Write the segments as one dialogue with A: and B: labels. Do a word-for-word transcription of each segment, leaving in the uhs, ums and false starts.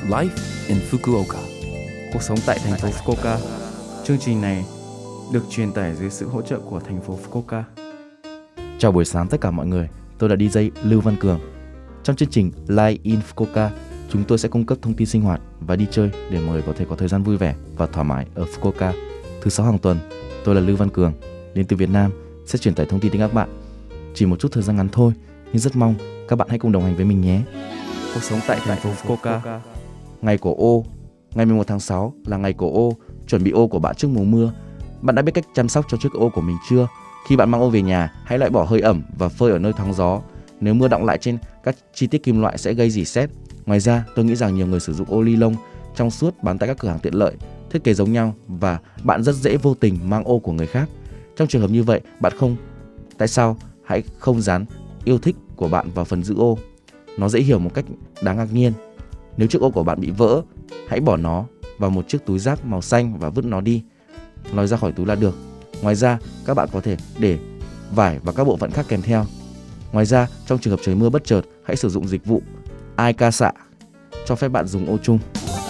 A: Life in Fukuoka.
B: Cuộc sống tại thành phố Fukuoka. Chương trình này được truyền tải dưới sự hỗ trợ của thành phố Fukuoka.
C: Chào buổi sáng tất cả mọi người, tôi là đi jay Lưu Văn Cường. Trong chương trình Life in Fukuoka, chúng tôi sẽ cung cấp thông tin sinh hoạt và đi chơi để mọi người có thể có thời gian vui vẻ và thoải mái ở Fukuoka. Thứ sáu hàng tuần, tôi là Lưu Văn Cường, đến từ Việt Nam, sẽ truyền tải thông tin đến các bạn. Chỉ một chút thời gian ngắn thôi, nhưng rất mong các bạn hãy cùng đồng hành với mình nhé.
B: Cuộc sống tại thành phố Fukuoka.
C: Ngày của ô. Ngày mười một tháng sáu là ngày của ô, chuẩn bị ô của bạn trước mùa mưa. Bạn đã biết cách chăm sóc cho chiếc ô của mình chưa? Khi bạn mang ô về nhà, hãy loại bỏ hơi ẩm và phơi ở nơi thoáng gió. Nếu mưa đọng lại trên các chi tiết kim loại sẽ gây rỉ sét. Ngoài ra, tôi nghĩ rằng nhiều người sử dụng ô ni lông trong suốt bán tại các cửa hàng tiện lợi, thiết kế giống nhau và bạn rất dễ vô tình mang ô của người khác. Trong trường hợp như vậy, bạn không tại sao hãy không dán yêu thích của bạn vào phần giữ ô. Nó dễ hiểu một cách đáng ngạc nhiên. Nếu chiếc ô của bạn bị vỡ, hãy bỏ nó vào một chiếc túi rác màu xanh và vứt nó đi, lòi ra khỏi túi là được. Ngoài ra, các bạn có thể để vải và các bộ phận khác kèm theo. Ngoài ra, trong trường hợp trời mưa bất chợt, hãy sử dụng dịch vụ iCasa, cho phép bạn dùng ô chung.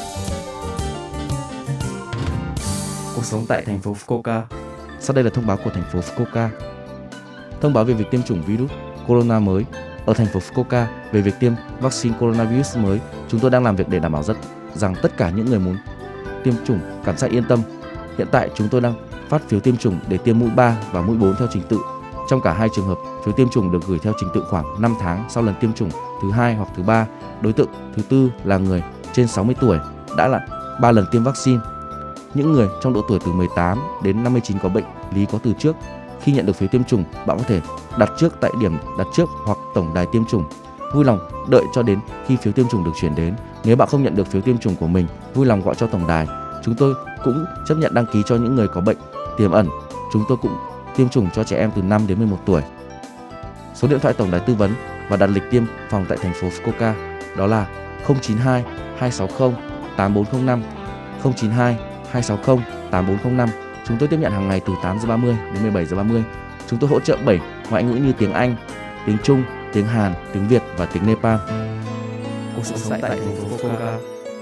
B: Cuộc sống tại thành phố Fukuoka.
C: Sau đây là thông báo của thành phố Fukuoka. Thông báo về việc tiêm chủng virus corona mới. Ở thành phố Fukuoka, về việc tiêm vaccine coronavirus mới, chúng tôi đang làm việc để đảm bảo rất rằng tất cả những người muốn tiêm chủng cảm giác yên tâm. Hiện tại chúng tôi đang phát phiếu tiêm chủng để tiêm mũi ba và mũi bốn theo trình tự. Trong cả hai trường hợp, phiếu tiêm chủng được gửi theo trình tự khoảng năm tháng sau lần tiêm chủng thứ hai hoặc thứ ba. Đối tượng thứ tư là người trên sáu mươi tuổi đã là ba lần tiêm vaccine. Những người trong độ tuổi từ mười tám đến năm mươi chín có bệnh lý có từ trước. Khi nhận được phiếu tiêm chủng, bạn có thể đặt trước tại điểm đặt trước hoặc tổng đài tiêm chủng. Vui lòng đợi cho đến khi phiếu tiêm chủng được chuyển đến. Nếu bạn không nhận được phiếu tiêm chủng của mình, vui lòng gọi cho tổng đài. Chúng tôi cũng chấp nhận đăng ký cho những người có bệnh tiềm ẩn. Chúng tôi cũng tiêm chủng cho trẻ em từ năm đến mười một tuổi. Số điện thoại tổng đài tư vấn và đặt lịch tiêm phòng tại thành phố Fukuoka đó là không chín hai hai sáu không tám bốn không năm, không chín hai hai sáu không tám bốn không năm. Chúng tôi tiếp nhận hàng ngày từ tám giờ ba mươi đến mười bảy giờ ba mươi. Chúng tôi hỗ trợ bảy ngoại ngữ như tiếng Anh, tiếng Trung, tiếng Hàn, tiếng Việt và tiếng Nepal.
B: Cuộc sống tại thành phố Fukuoka.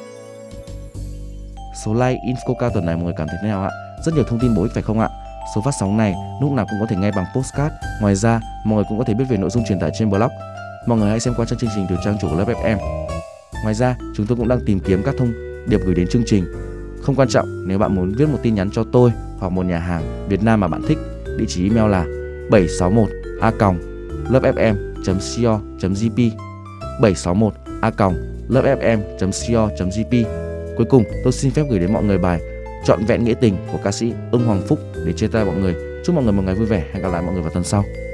C: Số like in Fukuoka tuần này mọi người cảm thấy thế nào ạ? Rất nhiều thông tin bổ ích phải không ạ? Số phát sóng này lúc nào cũng có thể nghe bằng podcast. Ngoài ra, mọi người cũng có thể biết về nội dung truyền tải trên blog. Mọi người hãy xem qua chương trình từ trang chủ của lớp ép em. Ngoài ra, chúng tôi cũng đang tìm kiếm các thông điệp gửi đến chương trình. Không quan trọng, nếu bạn muốn viết một tin nhắn cho tôi hoặc một nhà hàng Việt Nam mà bạn thích, địa chỉ email là bảy sáu một a còng lớp ép em chấm co chấm jp, bảy sáu một a còng lớp ép em chấm co chấm jp. Cuối cùng, tôi xin phép gửi đến mọi người bài Trọn vẹn nghĩa tình của ca sĩ Ưng Hoàng Phúc để chia tay mọi người. Chúc mọi người một ngày vui vẻ. Hẹn gặp lại mọi người vào tuần sau.